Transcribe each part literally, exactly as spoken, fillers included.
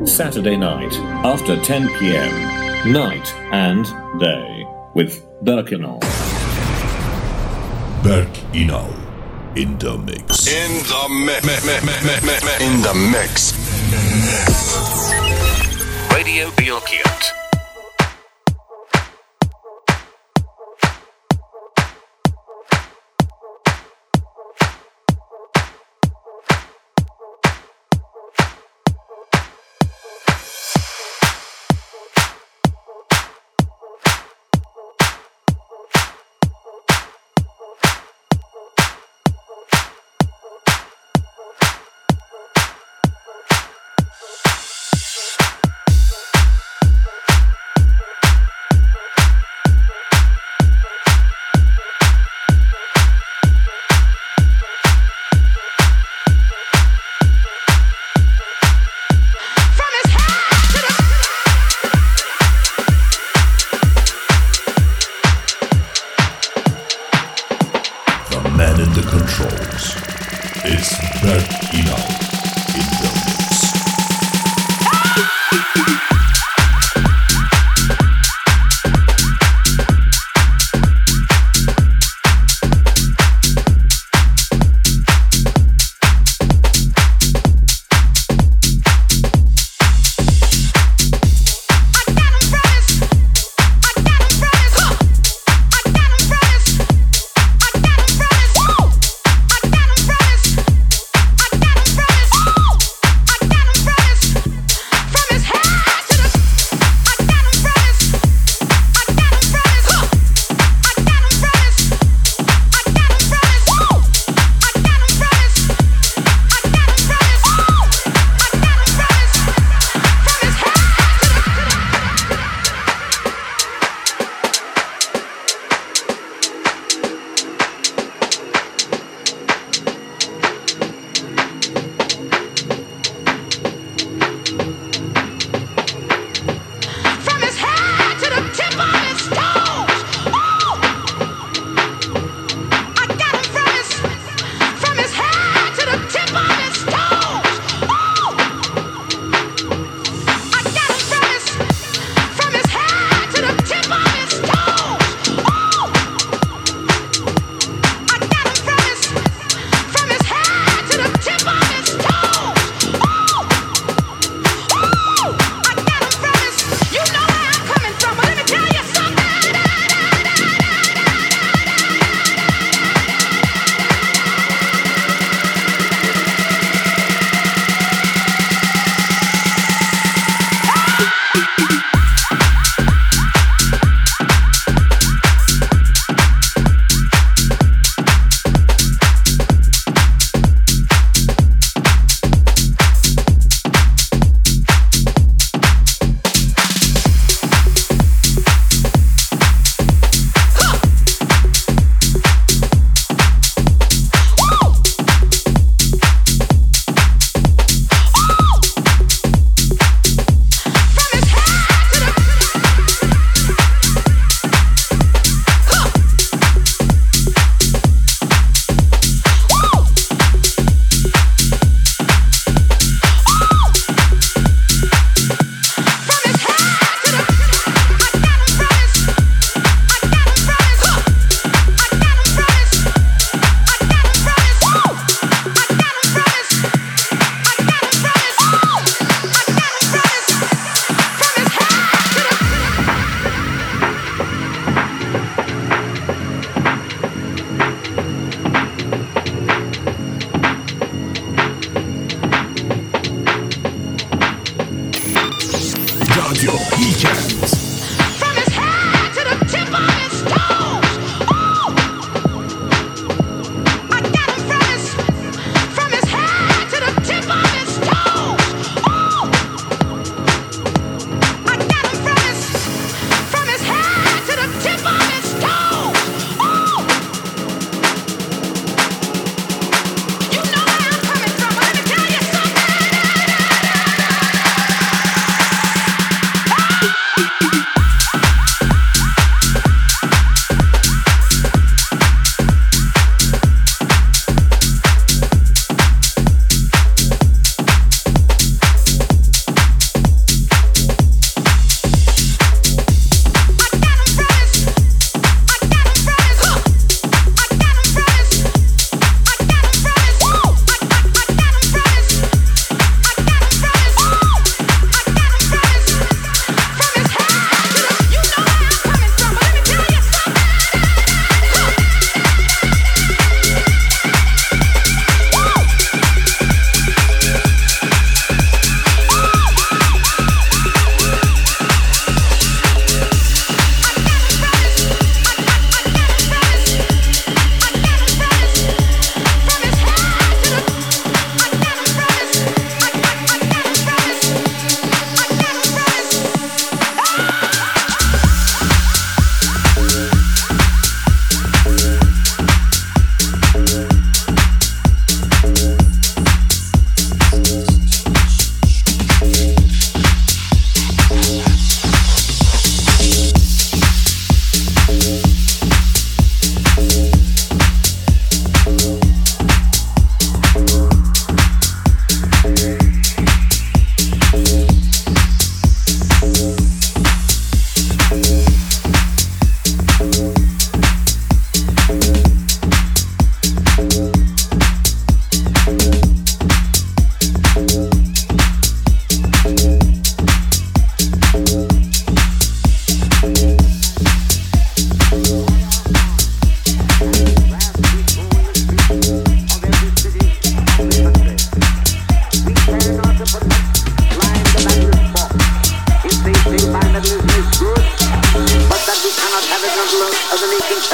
Saturday night, after ten p.m. Night and Day, with Berk Inal. Berk Inal, in the mix. In the mix. In the mix. Radio Bilkent.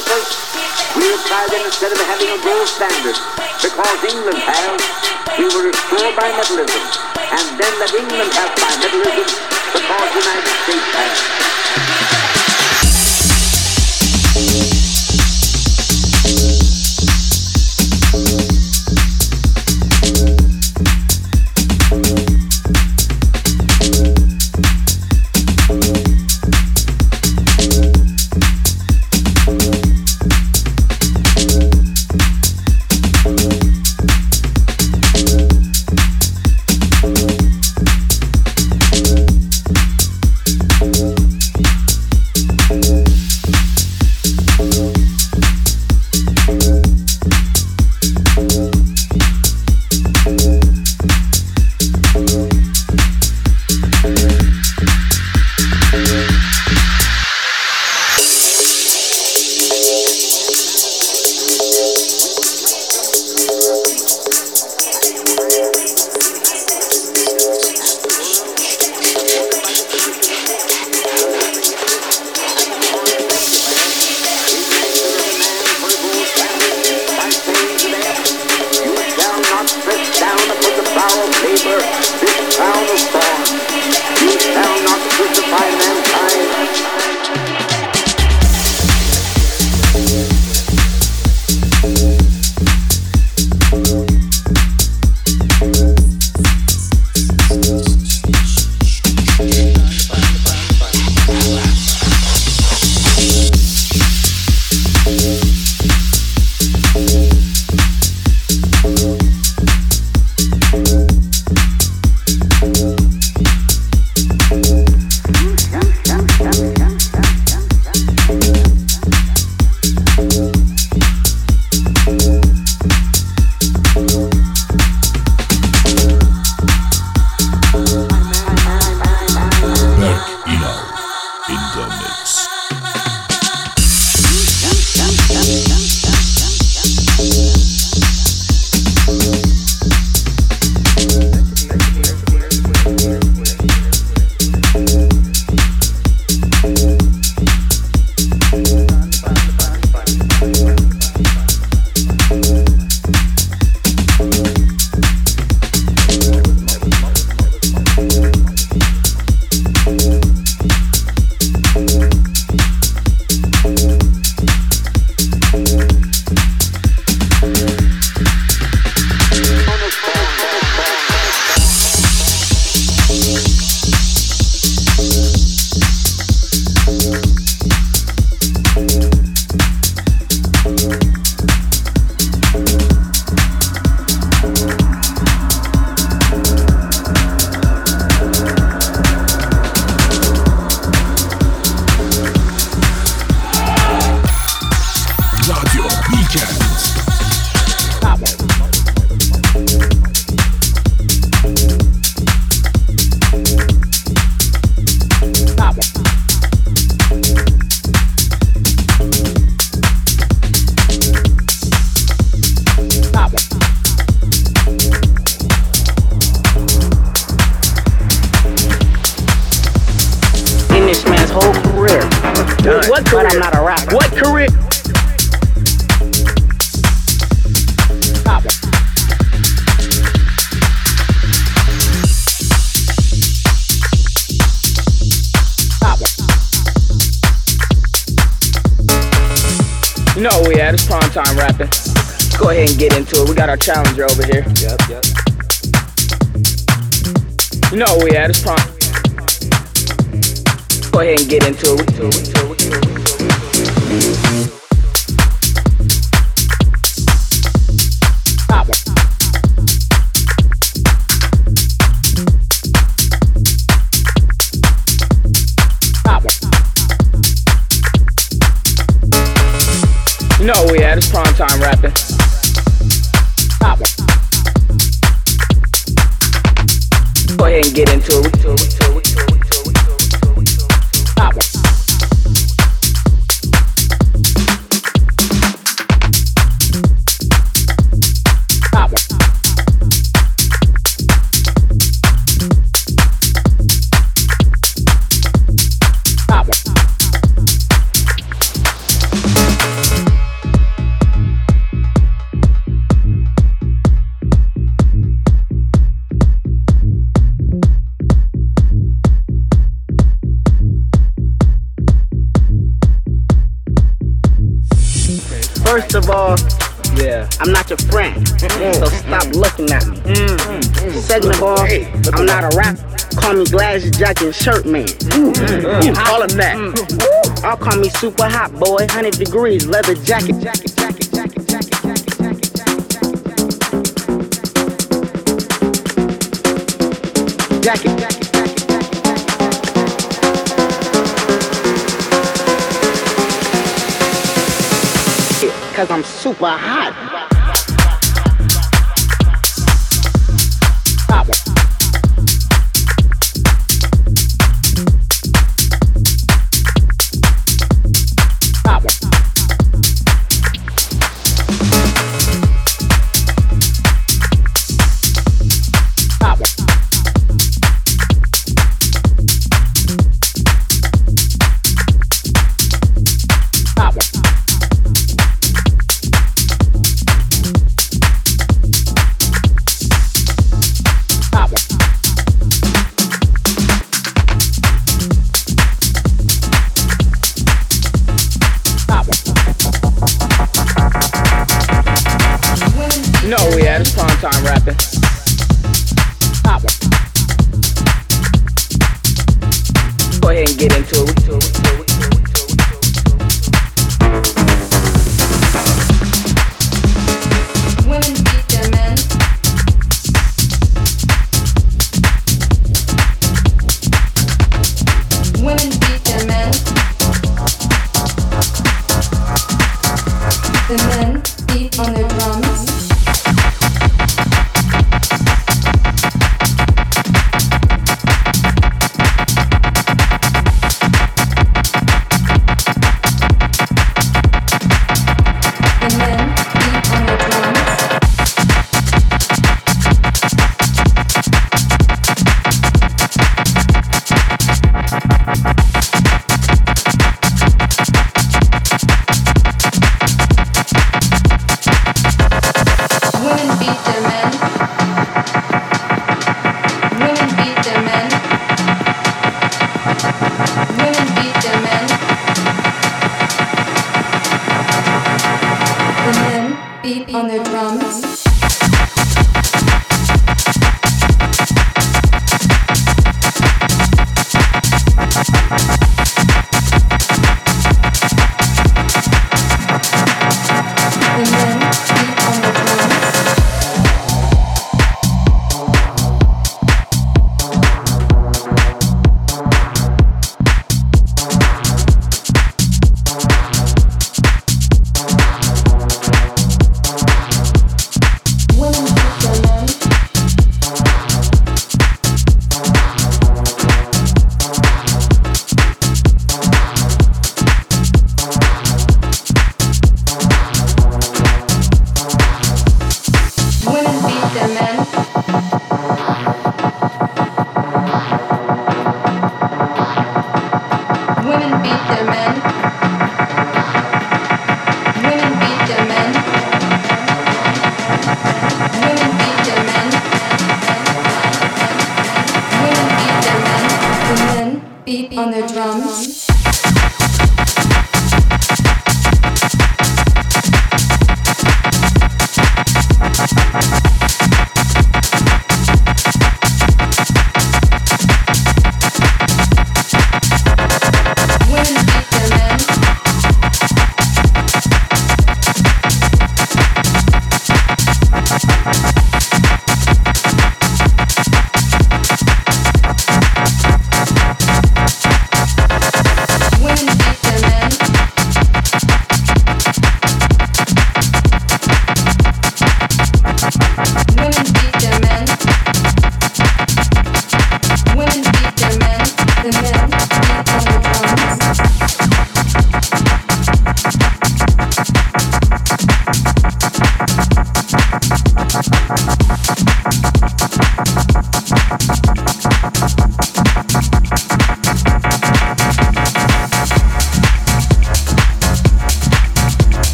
us, we have tried then instead of having a gold standard, because England has, we will restore bimetallism, and then let England have bimetallism, because the United States has. What career? But I'm not a rapper. What career? Stop it. Stop it. You know where we at? It's prime time rapping. Let's go ahead and get into it. We got our challenger over here. Yep, yep. You know where we at? It's prime. Go ahead and get into it. Into it, into it, into it, into it. Stop it. Stop it. You know where we at? It's prime time rapping. Stop it. Go ahead and get into it. Into it, into it, into it. Stop it. Stop it. Stop it. of all, yeah, I'm not your friend, so stop looking at me. Second of all, I'm not a rapper. Call me Glass Jacket and Shirt Man. Call him that. I'll call me super hot boy, one hundred degrees, leather jacket, jacket, jacket, jacket, jacket, jacket, jacket, jacket, jacket. Cause I'm super hot. Pop. Pop. Pop. No, yeah, it's prime time rapping. Pop. Go ahead and get into it. Women beat their men. Women beat their men. The men beat on their drums. On their drums. On their drums.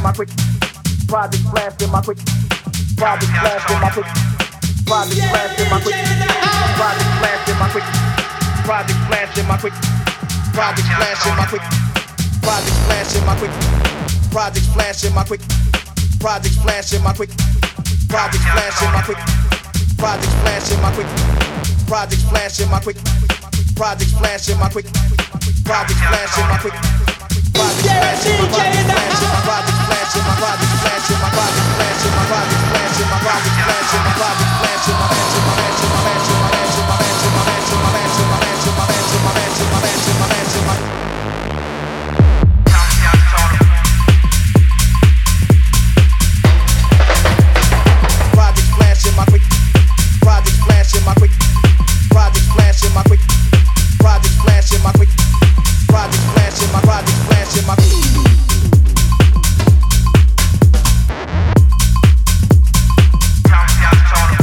my quick. Project flash in my quick. Project flash in my quick. Project flash in my quick. Project flash in my quick. Project flash in my quick. Project flash in my quick. Project flash in my quick. Project flash in my quick. Project flash in my quick. Project flash in my quick. Project flash in my quick. Project flash in my quick. Project flash in my quick. Project flash in my quick. Project flash in my project flash in my project flash in my project flash in my project flash in my project flash in my project flash in my project flash in my flash in my flash in my flash in my flash in my flash in my flash in my flash in my flash in my flash in my flash in my flash in my flash in my project flash in my quick. Project flash in my quick. Project flash in my quick. Project flash in my quick. Project flash in my project flash in my quick. Count, count, count.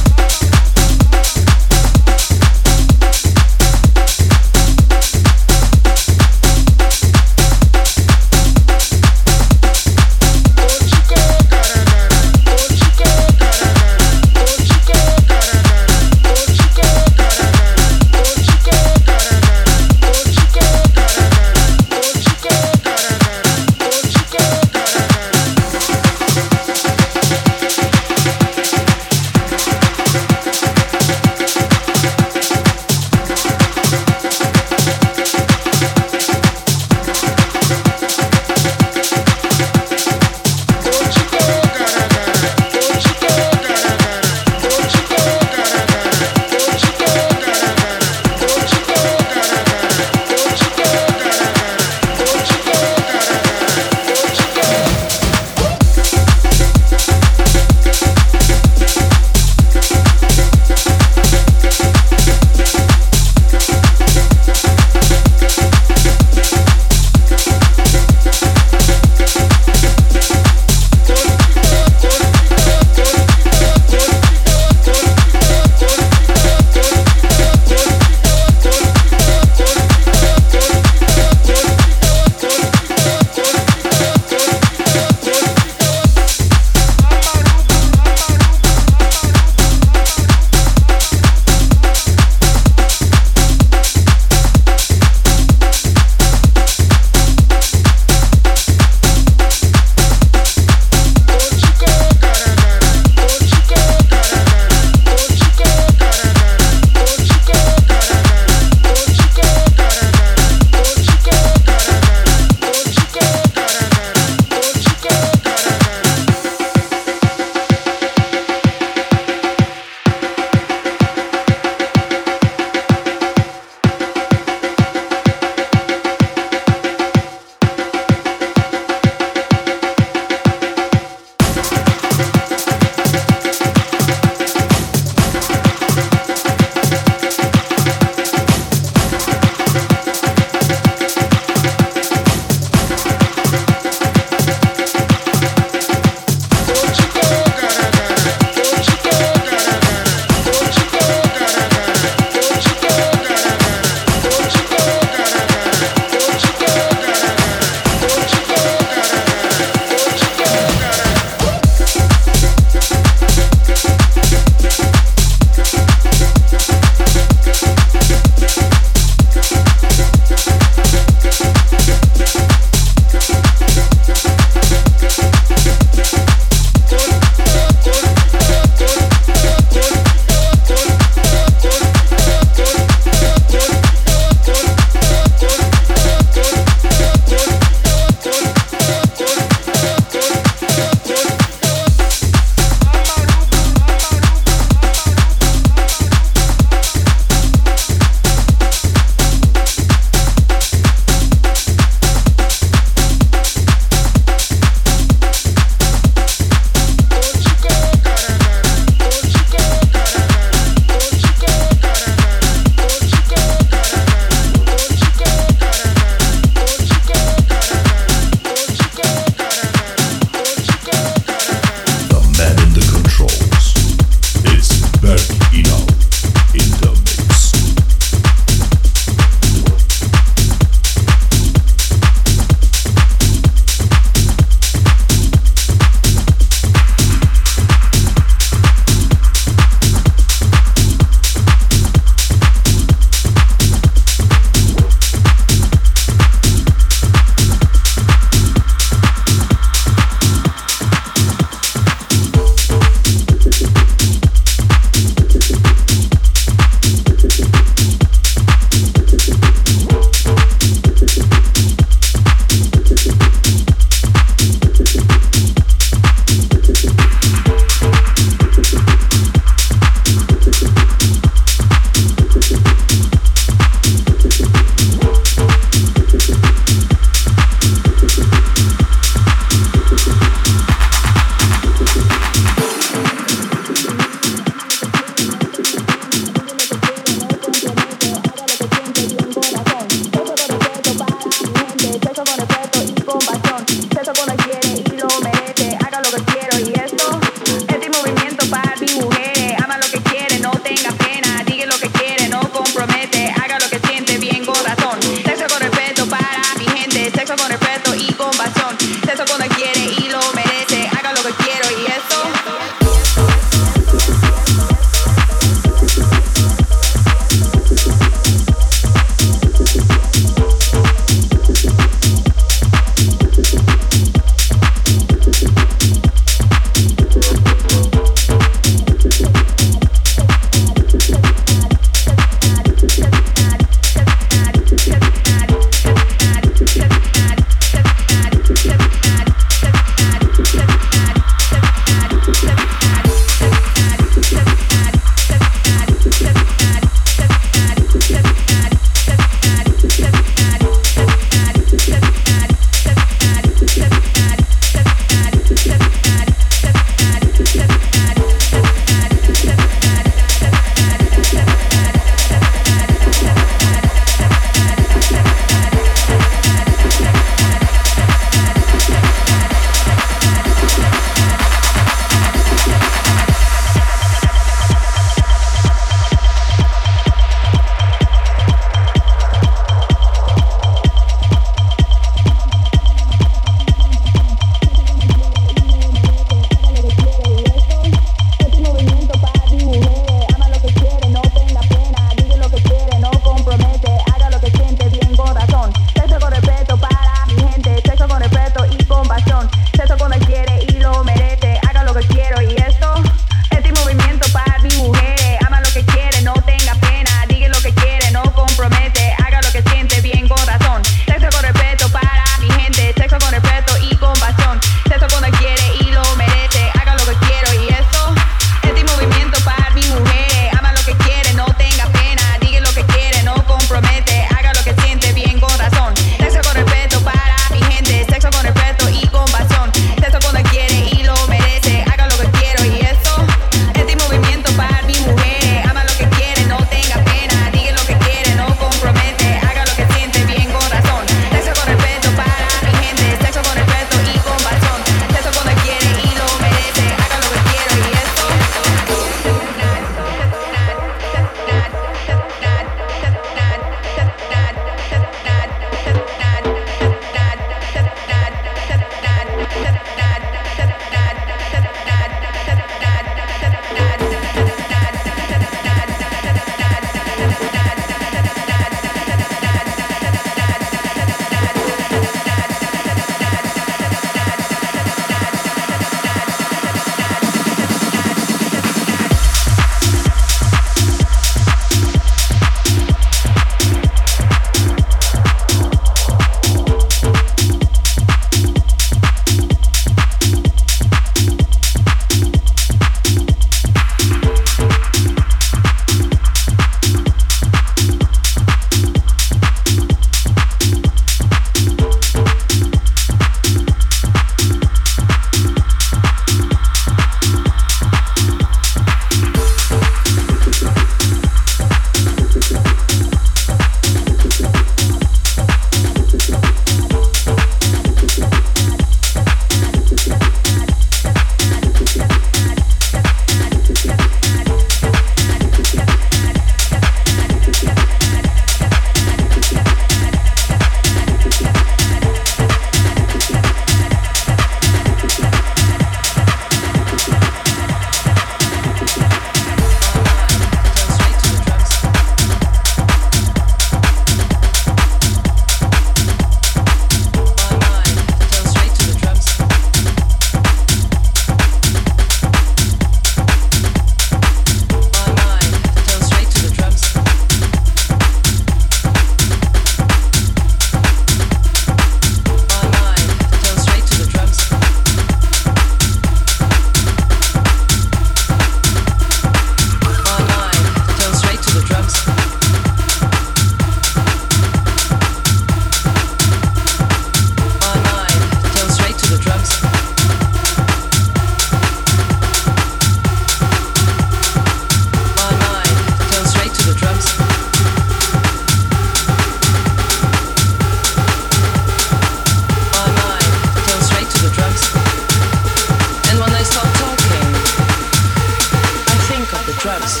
drums.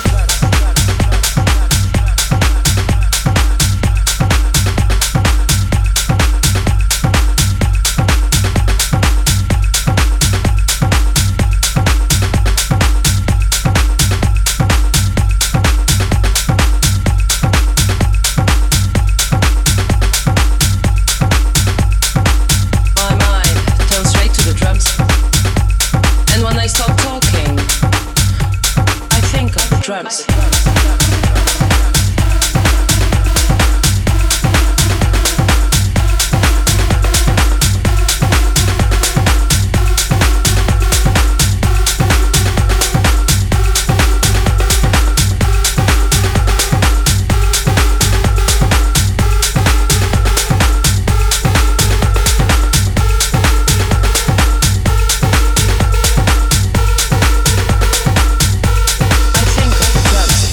Drums. Drums.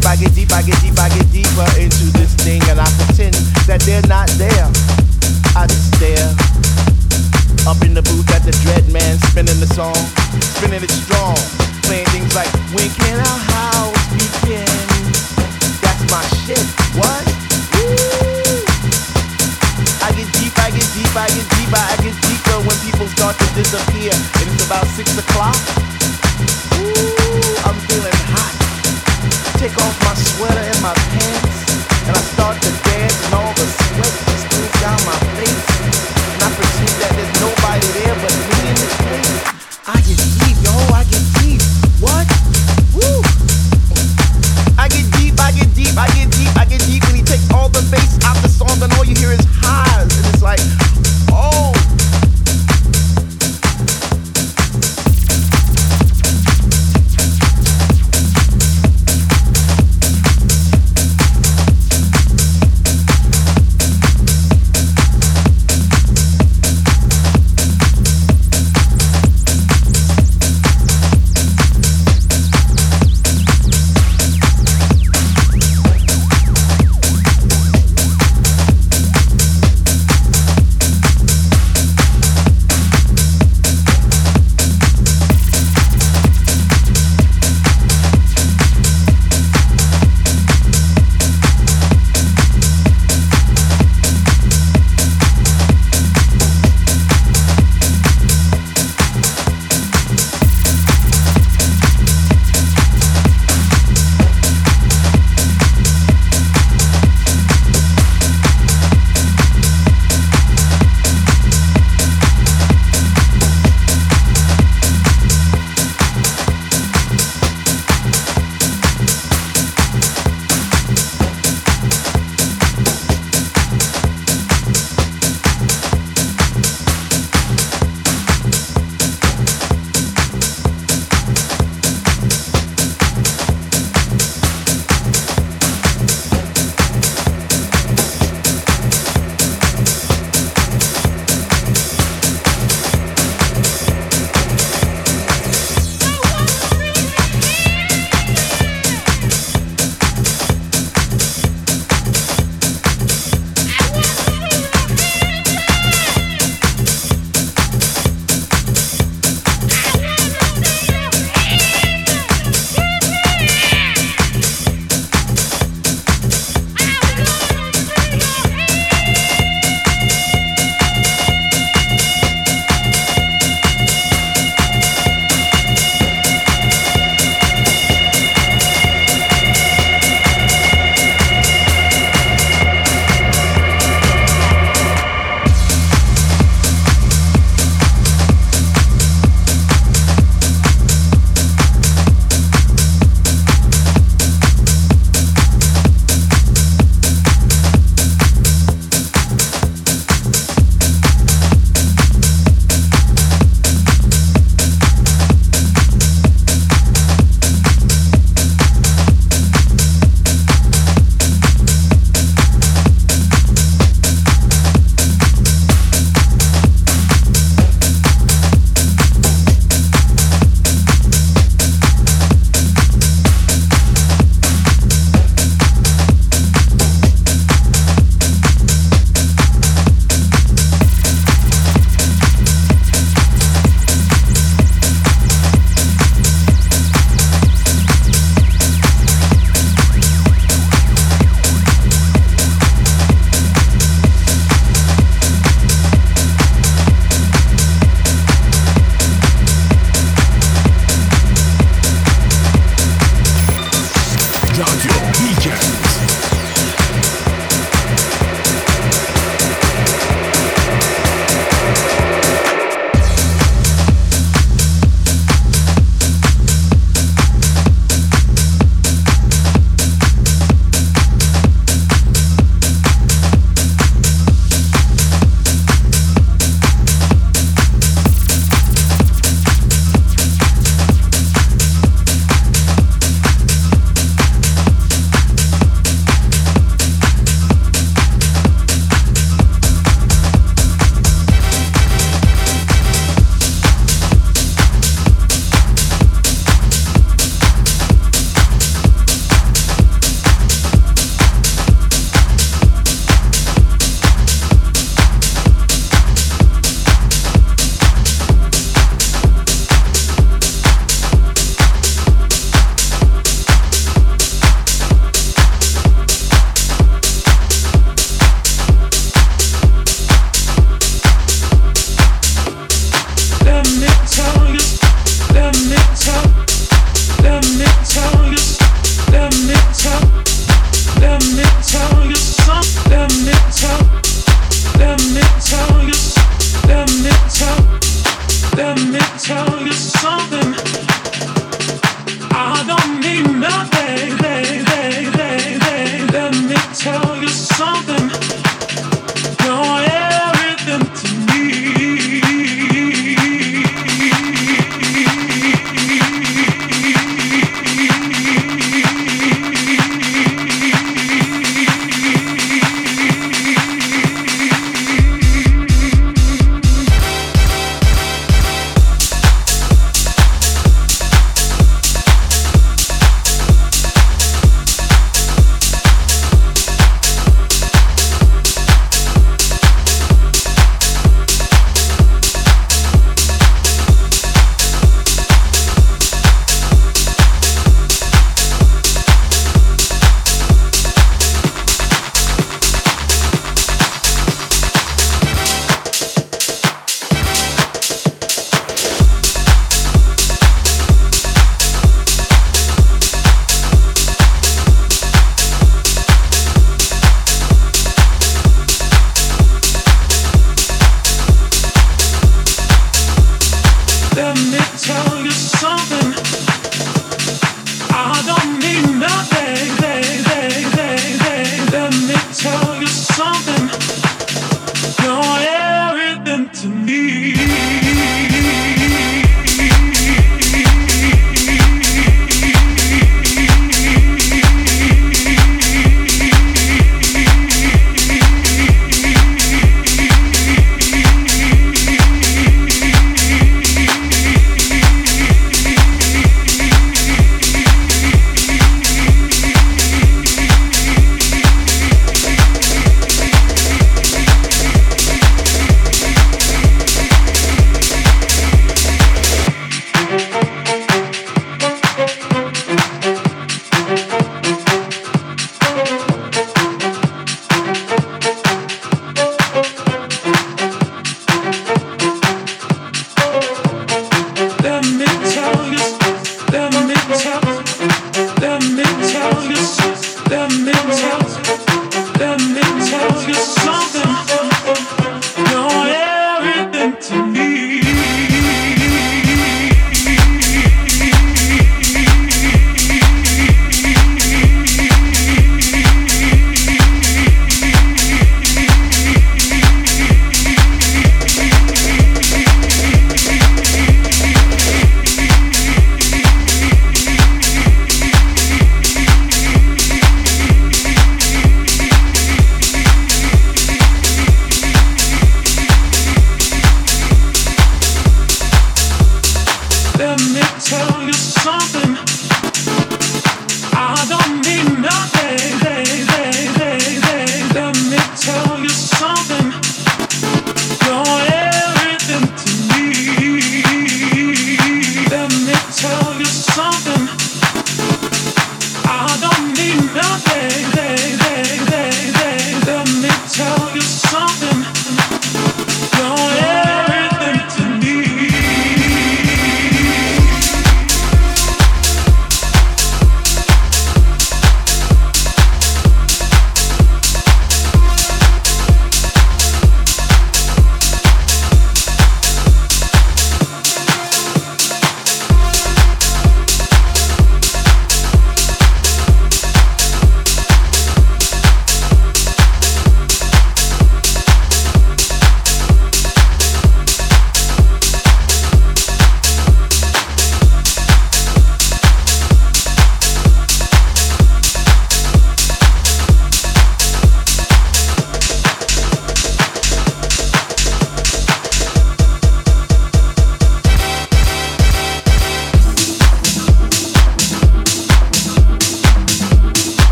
deep, I get deep, I get deep, I get deeper into this thing, and I pretend that they're not there. I just stare up in the booth at the Dread Man, spinning the song, spinning it strong, playing things like "When can our house begin?" That's my shit. What? Woo! I get deep, I get deep, I get deeper, I get deeper when people start to disappear, and it's about six o'clock. Ooh, I'm feeling hot. Take off my sweater and my pants, and I start to dance, and all the sweat just goes down my face. And I pretend that there's nobody there but me in this place. I get deep, yo, I get deep. What? Woo! I get deep, I get deep, I get deep, I get deep when he takes all the bass out the song, and all you hear is highs, and it's like, oh.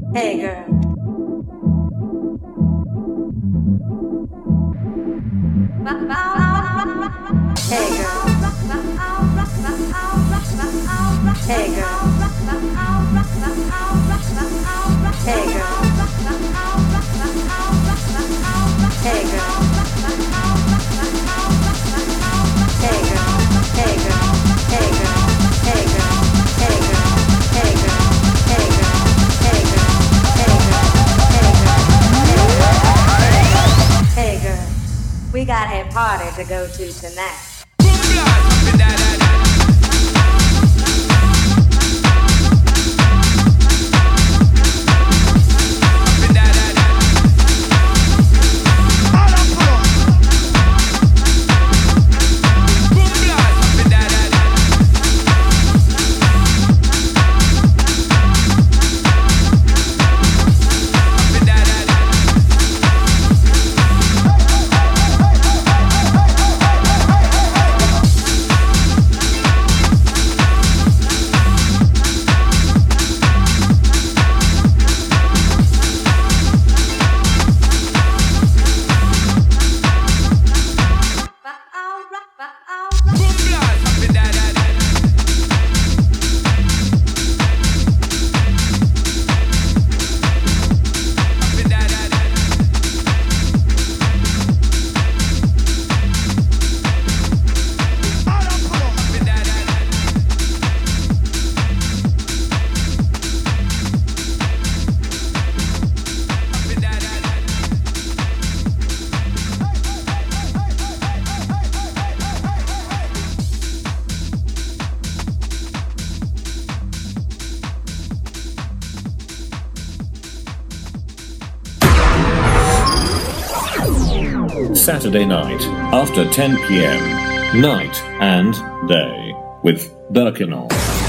Hey girl. Hey girl. Hey girl. Hey girl. Hey girl. Hey girl. Hey girl. Hey girl. Hey girl. Hey girl. Hey girl. Hey girl. Hey girl. Hey girl. Hey girl. We got a party to go to tonight. Saturday night, after ten p.m. Night and Day, with Berkinol.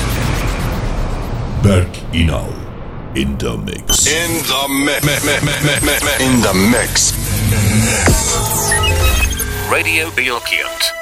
Berk Inal in the mix. In the mix. In the mix. Radio Bilkent.